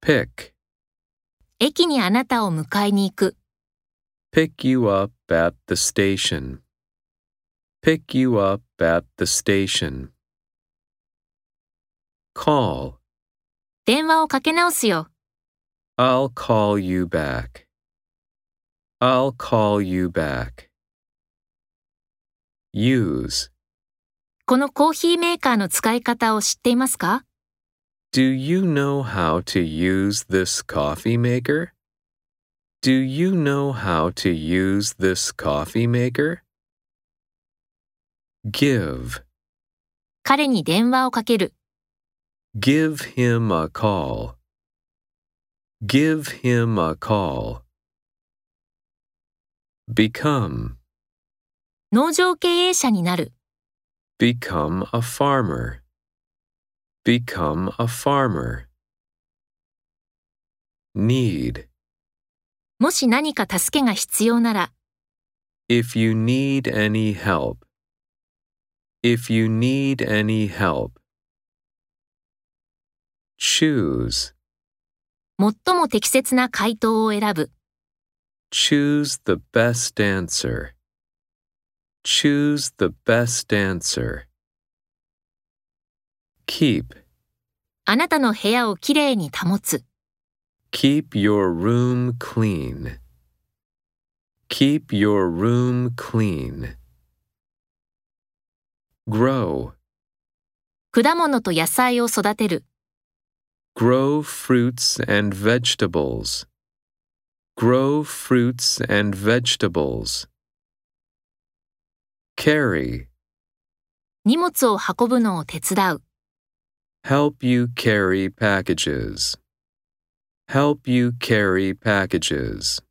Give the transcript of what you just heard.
Pick. 駅にあなたを迎えに行く。 Pick you up at the station. Pick you up at the station. Call. 電話をかけ直すよ。 I'll call you back. I'll call you back. Use. このコーヒーメーカーの使い方を知っていますか？ Do you know how to use this coffee maker? Do you know how to use this coffee maker? Give. 彼に電話をかける。 Give him a call. Give him a call. Become. 農場経営者になる。 Become a farmer. Become a farmer. Need. もし何か助けが必要なら、 If you need any help. If you need any help. Choose. 最も適切な回答を選ぶ。 Choose the best answer. Choose the best answer. Keep. あなたの部屋をきれいに保つ。 Keep your room clean. Keep your room clean. Grow. 果物と野菜を育てる。 Grow fruits and vegetables. Grow fruits and vegetables. Carry. 荷物を運ぶのを手伝う。 Help you carry packages. Help you carry packages.